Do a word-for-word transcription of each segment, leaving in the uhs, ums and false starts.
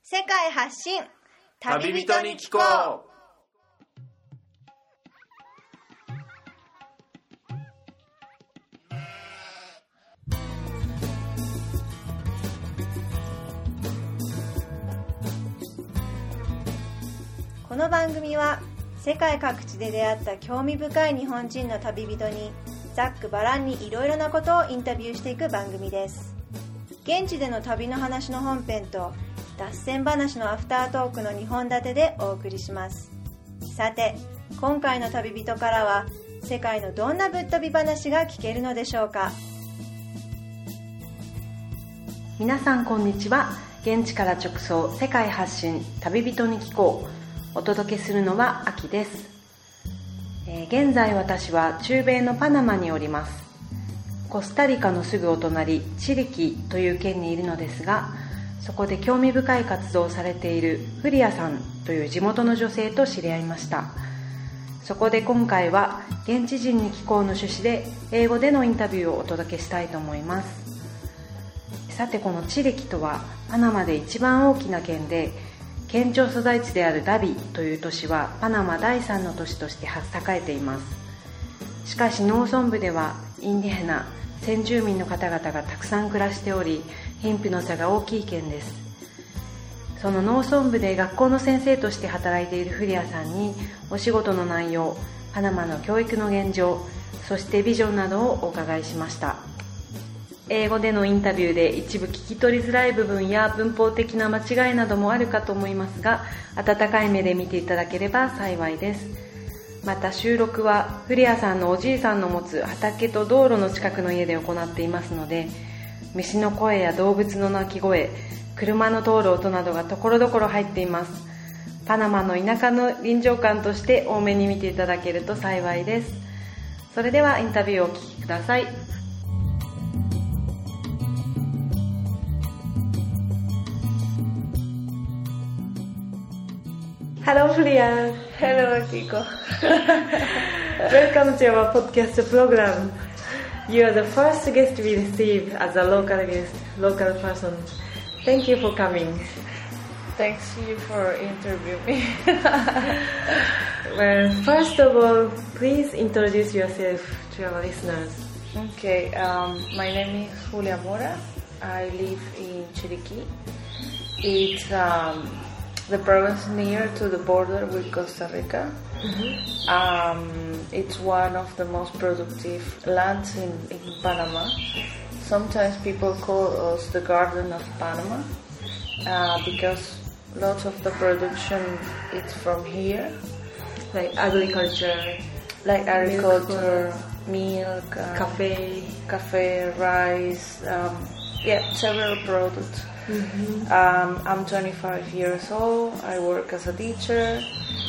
世界発信旅人に聞こう。 この番組は世界各地で出会った興味深い日本人の旅人にざっくばらんにいろいろなことをインタビューしていく番組です。現地での旅の話の本編と脱線話のアフタートークのにほん立てでお送りします。さて、今回の旅人からは世界のどんなぶっ飛び話が聞けるのでしょうか。 皆さんこんにちは。現地から直送世界発信旅人に聞こう。お届けするのはアキです。えー、現在私は中米のパナマにおります。コスタリカのすぐお隣チリキという県にいるのですが、そこで興味深い活動をされているフリアさんという地元の女性と知り合いました。そこで今回は現地人に聞こうの趣旨で英語でのインタビューをお届けしたいと思います。さて、このチリキとはパナマで一番大きな県で、県庁所在地であるダビという都市はパナマだいさんの都市として栄えています。しかし農村部ではインディヘナ先住民の方々がたくさん暮らしており、貧富の差が大きい県です。その農村部で学校の先生として働いているフリアさんにお仕事の内容、パナマの教育の現状、そしてビジョンなどをお伺いしました。英語でのインタビューで一部聞き取りづらい部分や文法的な間違いなどもあるかと思いますが、温かい目で見ていただければ幸いです。また収録はフリアさんのおじいさんの持つ畑と道路の近くの家で行っていますので、虫の声や動物の鳴き声、車の通る音などがところどころ入っています。パナマの田舎の臨場感として多めに見ていただけると幸いです。それではインタビューをお聞きください。Hello, Flia. Hello, Kiko. Welcome to our podcast program. You are the first guest we receive as a local guest, local person. Thank you for coming. Thanks you for interviewing me. Well, first of all, please introduce yourself to our listeners. Okay, um, my name is Julia Mora. I live in Chiriquí. It's um, the province near to the border with Costa Rica. Mm-hmm. Um, it's one of the most productive lands in, in Panama. Sometimes people call us the Garden of Panama uh, because lots of the production is from here, like agriculture, like agriculture, milk, milk um, cafe, cafe, rice, um, yeah, several products. Mm-hmm. Um, I'm twenty-five years old. I work as a teacher.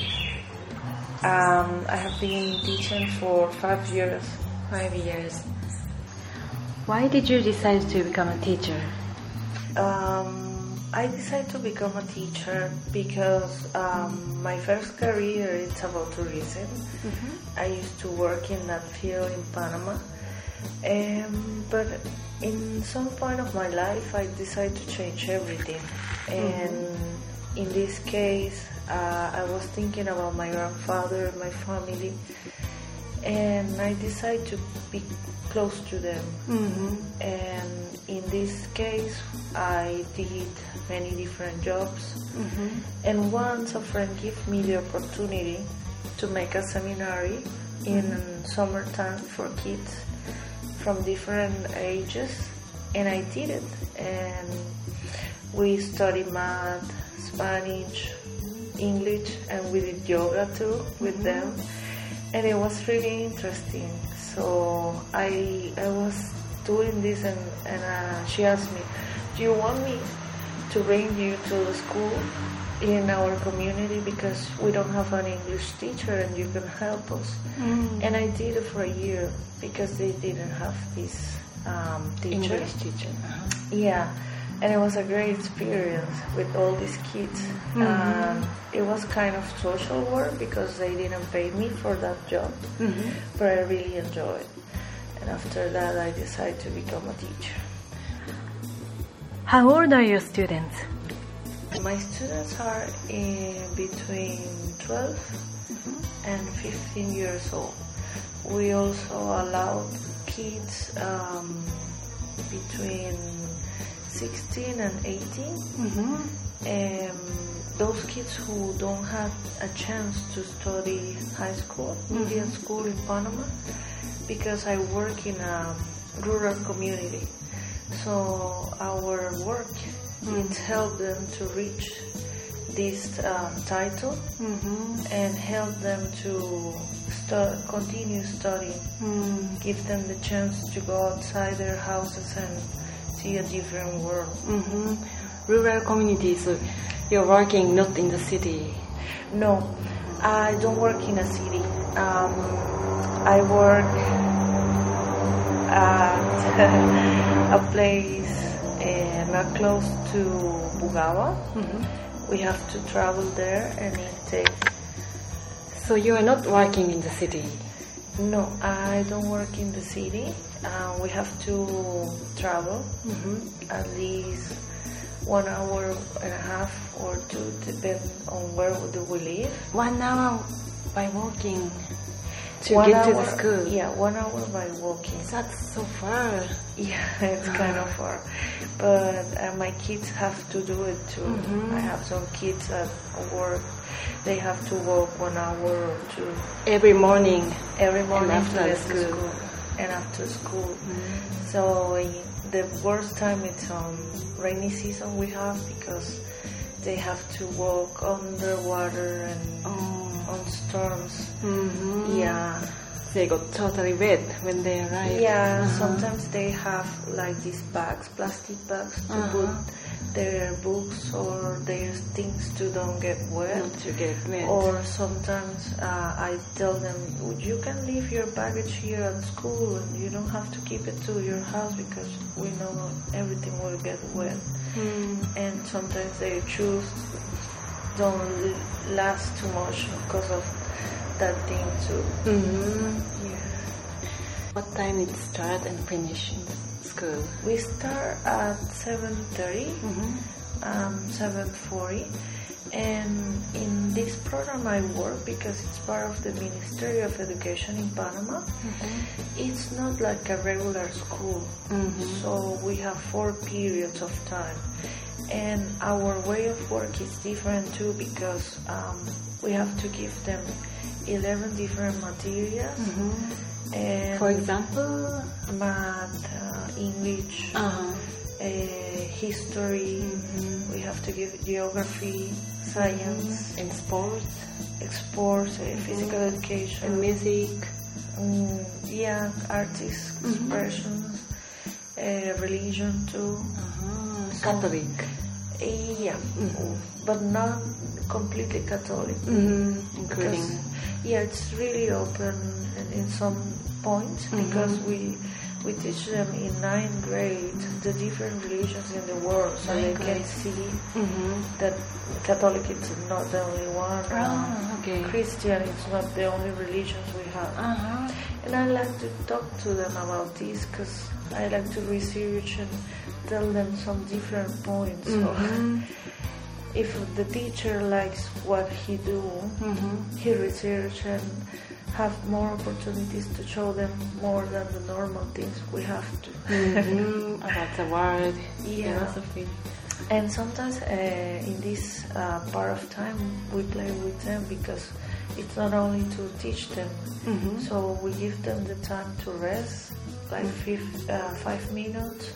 Um, I have been teaching for five years. Five years. Why did you decide to become a teacher? Um, I decided to become a teacher because um, my first career is about tourism. Mm-hmm. I used to work in that field in Panama. Um, but in some point of my life, I decided to change everything. And mm-hmm. in this case, uh, I was thinking about my grandfather, my family, and I decided to be close to them. Mm-hmm. And in this case, I did many different jobs. Mm-hmm. And once a friend gave me the opportunity to make a seminary in mm-hmm. summertime for kids from different ages, and I did it. And we studied math, Spanish, English, and we did yoga too with mm-hmm. them, and it was really interesting. So I I was doing this, and, and uh, she asked me, do you want me to bring you to the school in our community because we don't have an English teacher and you can help us? Mm. And I did it for a year because they didn't have this um, teacher. English teacher. Uh-huh. Yeah, and it was a great experience with all these kids. Mm-hmm. Um, it was kind of social work because they didn't pay me for that job, mm-hmm. but I really enjoyed it. And after that, I decided to become a teacher. How old are your students? My students are in between twelve mm-hmm. and fifteen years old. We also allow kids um, between sixteen and eighteen. Mm-hmm. Um, those kids who don't have a chance to study high school, mm-hmm. medium school in Panama, because I work in a rural community. So our work mm-hmm. is help them to reach this uh, title mm-hmm. and help them to start, continue studying, mm-hmm. give them the chance to go outside their houses and see a different world. Mm-hmm. Rural communities, so you're working not in the city? No, I don't work in a city. Um, I work at a place uh, not close to Bugaba. Mm-hmm. We have to travel there and it takes... So you are not working in the city? No, I don't work in the city. Uh, we have to travel mm-hmm. at least one hour and a half or two, depending on where do we live. One hour by walking to one get hour, to the school? Yeah, one hour by walking. That's so far. Yeah, it's kind of far. But uh, my kids have to do it too. Mm-hmm. I have some kids at work. They have to walk one hour or two. Every morning? Every morning and after to school. school. And after school. Mm-hmm. So the worst time it's um, rainy season we have because they have to walk underwater and oh. on storms. Mm-hmm. Yeah. They got totally wet when they arrive. Yeah, uh-huh. sometimes they have like these bags, plastic bags to uh-huh. put their books or their things to don't get wet. Not to get wet. Or sometimes uh, I tell them, you can leave your baggage here at school and you don't have to keep it to your house because we know everything will get wet. Mm. And sometimes they choose don't last too much because of that thing too. Mm-hmm. Yeah. What time it start and finish in the school? We start at seven thirty, mm-hmm. um, seven forty, and in this program I work because it's part of the Ministry of Education in Panama. Mm-hmm. It's not like a regular school, mm-hmm. so we have four periods of time. And our way of work is different too because um, we have to give them eleven different materials. Mm-hmm. And for example, math, uh, English, uh-huh. uh, history. Mm-hmm. We have to give geography, science, mm-hmm. and sports, sports, uh, mm-hmm. physical education, and music. Mm, yeah, artists, mm-hmm. expressions, uh, religion too. Uh-huh. Catholic. Uh, yeah, mm-hmm. but not completely Catholic. Mm-hmm. Including. Because, yeah, it's really open in some points mm-hmm. because we we teach them in ninth grade the different religions in the world, so ninth they grade. Can see mm-hmm. that Catholic is not the only one. Oh, uh, okay. Christian is not the only religions we have. Uh-huh. And I like to talk to them about this because I like to research and tell them some different points. Mm-hmm. So if the teacher likes what he do, mm-hmm. he research and have more opportunities to show them more than the normal things we have to. Mm-hmm. About the word, yeah. philosophy. And sometimes uh, in this uh, part of time we play with them because it's not only to teach them, mm-hmm. so we give them the time to rest, like five, uh, five minutes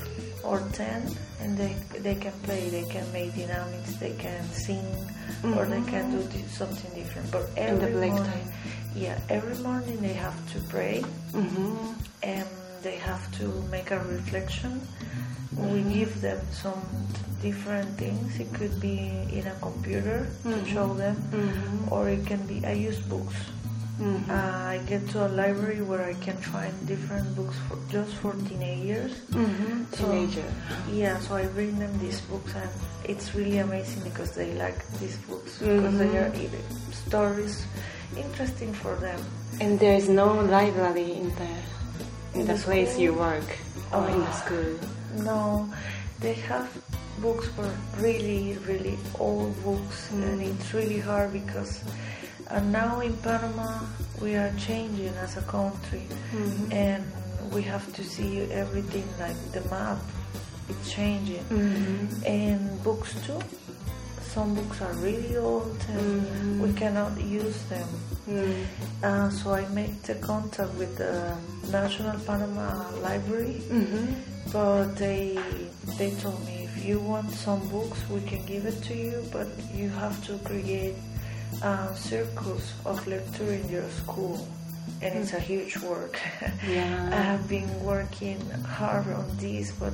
or ten, and they they can play, they can make dynamics, they can sing, mm-hmm. or they can do something different. But every morning, time. yeah, every morning they have to pray, mm-hmm. and they have to make a reflection. Mm-hmm. We give them some different things. It could be in a computer mm-hmm. to show them, mm-hmm. or it can be, I use books. Mm-hmm. Uh, I get to a library where I can find different books for just for teenagers. Mm-hmm. So, Teenager. Yeah, so I bring them these books, and it's really amazing because they like these books mm-hmm. because they are either stories interesting for them. And there is no library in the in, in the, the place you work or oh, in the school. No, they have books were really, really old books, mm. and it's really hard because uh, now in Panama we are changing as a country, mm-hmm. and we have to see everything like the map. It's changing, mm-hmm. and books too. Some books are really old and mm-hmm. we cannot use them. Mm. Uh, so I made the contact with the National Panama Library, mm-hmm. but they they told me if you want some books we can give it to you, but you have to create uh, circles of lecture in your school, and mm. it's a huge work. Yeah. I have been working hard on this, but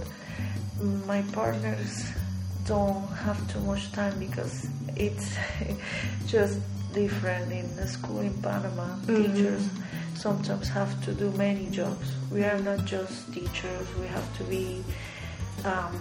my partners don't have too much time because it's just different in the school in Panama. Mm-hmm. Teachers sometimes have to do many jobs. We are not just teachers. We have to be um,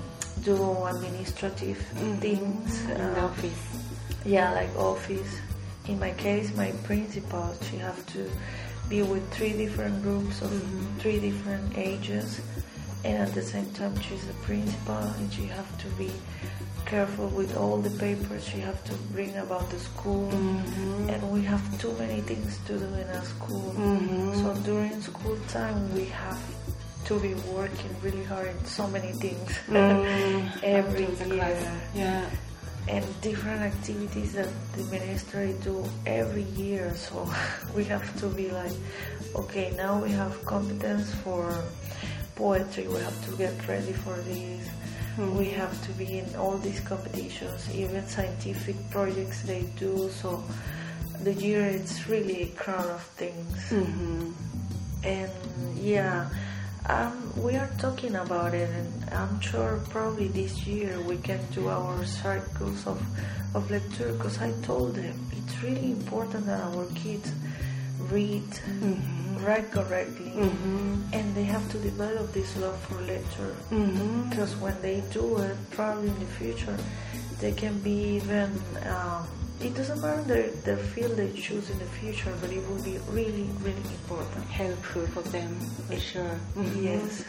do administrative mm-hmm. things. In uh, the office. Yeah, like office. In my case, my principal, she have to be with three different groups of mm-hmm. three different ages. And at the same time, she's the principal, and she have to be careful with all the papers she have to bring about the school. Mm-hmm. And we have too many things to do in our school. Mm-hmm. So during school time, we have to be working really hard in so many things mm-hmm. every year. Yeah. And different activities that the ministry do every year. So we have to be like, okay, now we have competence for poetry, we have to get ready for this. Mm-hmm. We have to be in all these competitions, even scientific projects they do. So the year it's really a crowd of things. Mm-hmm. And yeah, um, we are talking about it, and I'm sure probably this year we can do our circles of, of lecture, because I told them it's really important that our kids read, mm-hmm. write correctly, mm-hmm. and they have to develop this love for literature, mm-hmm. because when they do it, probably in the future, they can be even, um, it doesn't matter the, the field they choose in the future, but it will be really, really important. Helpful for them, for it, sure. Mm-hmm. Yes.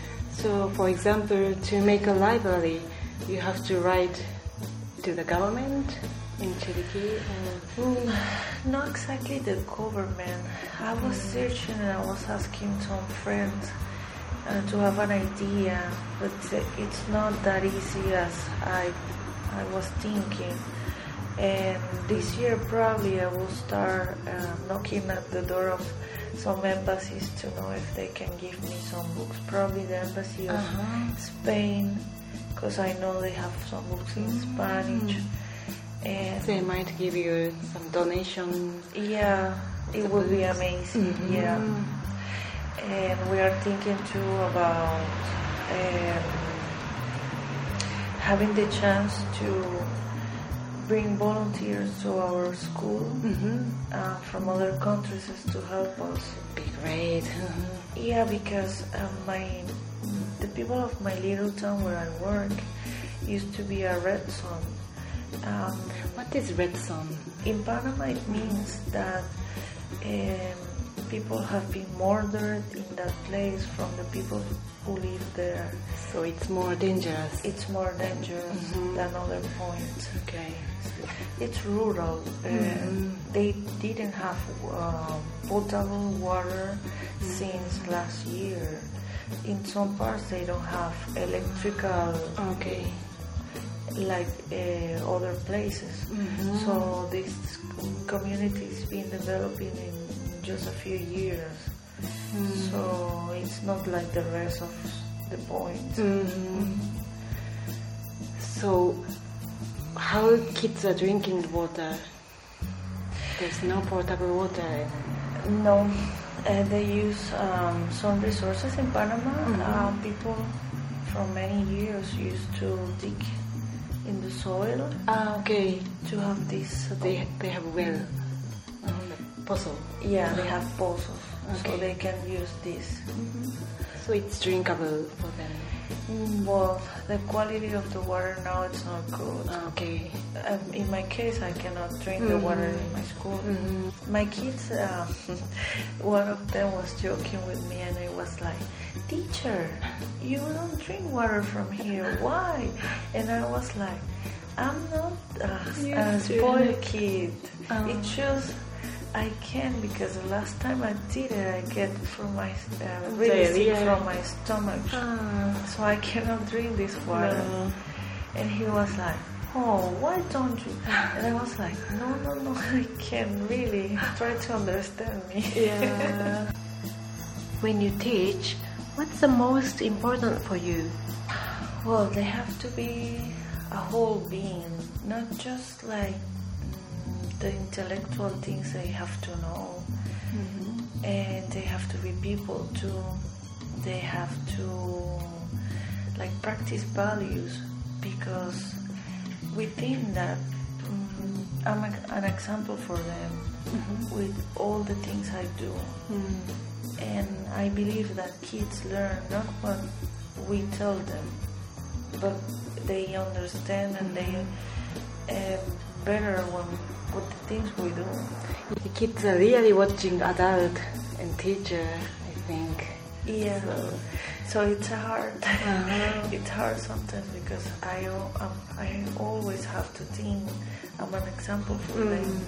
So, for example, to make a library, you have to write to the government in Chiriquí? Or? Mm, not exactly the government. I was searching and I was asking some friends uh, to have an idea, but it's not that easy as I I was thinking. And this year probably I will start uh, knocking at the door of some embassies to know if they can give me some books. Probably the embassy of uh-huh. Spain, because I know they have some books in mm-hmm. Spanish. And they might give you some donations. Yeah, it would be amazing. Mm-hmm. Yeah, and we are thinking too about um, having the chance to bring volunteers to our school mm-hmm. uh, from other countries to help us. Be great. Mm-hmm. Yeah, because um, my the people of my little town where I work used to be a red zone. Um, what is red zone? In Panama, it means that um, people have been murdered in that place from the people who live there. So it's more dangerous. It's more dangerous mm-hmm. than other points. Okay. It's rural. Mm-hmm. Uh, they didn't have uh, potable water mm-hmm. since last year. In some parts, they don't have electrical. Okay. Like uh, other places. Mm-hmm. So this community is been developing in just a few years. Mm-hmm. So it's not like the rest of the point. Mm-hmm. So how kids are drinking water? There's no potable water. No, uh, they use um, some resources in Panama. Mm-hmm. Uh, people from many years used to dig in the soil. Ah, okay. To have this. So they they have well, um, pozo. Yeah, they have pozos, okay. So they can use this. Mm-hmm. So it's drinkable for them. Mm, well, the quality of the water now it's not good. Ah, okay. Uh, um, in my case, I cannot drink the water in my school. Mm-hmm. My kids, uh, one of them was joking with me, and it was like, "Teacher, you don't drink water from here. Why?" And I was like, "I'm not a, a spoiled kid. Um. It's just I can because the last time I did it, I get from my uh, really sick yeah. from my stomach, ah. so I cannot drink this water." No. And he was like, "Oh, why don't you?" And I was like, "No, no, no, I can't really. Try to understand me." Yeah. When you teach, what's the most important for you? Well, they have to be a whole being, not just like mm, the intellectual things they have to know. Mm-hmm. And they have to be people too. They have to like practice values. Because we think that um, I'm a, an example for them mm-hmm. with all the things I do. Mm. And I believe that kids learn not what we tell them, but they understand and they uh, better when, with the things we do. The kids are really watching adult and teacher, I think. Yeah. So, so it's hard. Uh-huh. It's hard sometimes because I um, I always have to think I'm an example for mm. them.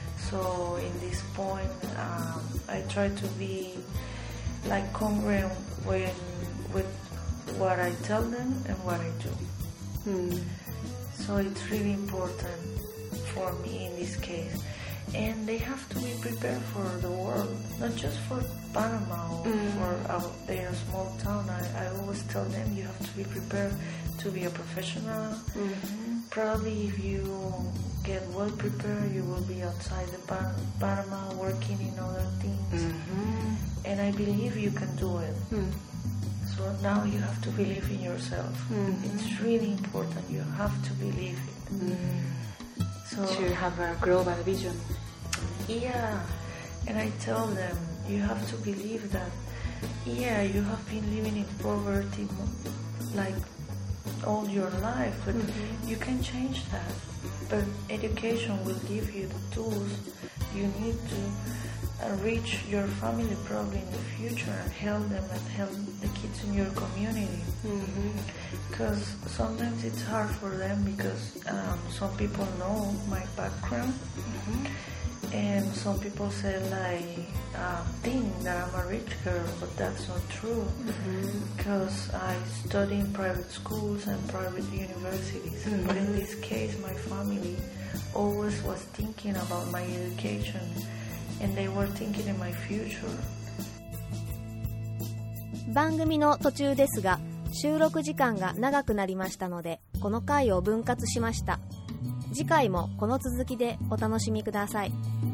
So in this point, um, I try to be like congruent when with what I tell them and what I do. Mm. So it's really important for me in this case. And they have to be prepared for the world, not just for Panama or mm. for our, their small town. I, I always tell them you have to be prepared to be a professional. Mm-hmm. Probably if you get well prepared, you will be outside the Pan- Panama working in other things. Mm-hmm. And I believe you can do it. Mm. So now you have to believe in yourself. Mm-hmm. It's really important. You have to believe it. Mm. So to have a global vision. Yeah, and I tell them, you have to believe that, yeah, you have been living in poverty like all your life, but mm-hmm. you can change that. But education will give you the tools you need to uh, reach your family probably in the future and help them and help the kids in your community. Because mm-hmm. sometimes it's hard for them because um, some people know my background. Mm-hmm. And some people say like, uh, think that I'm a rich girl, but that's not true. Because mm-hmm. I study in private schools and private universities. Mm-hmm. But in this case, my family always was thinking about my education, and they were thinking in my future. 番組の途中ですが、収録時間が長くなりましたので、この回を分割しました。次回もこの続きでお楽しみください。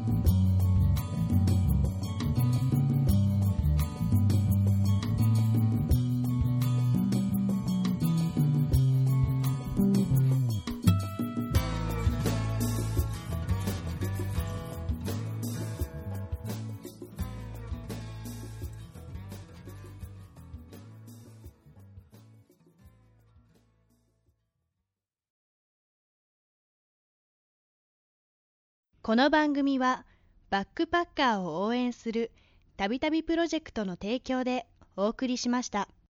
この番組はバックパッカーを応援するたびたびプロジェクトの提供でお送りしました。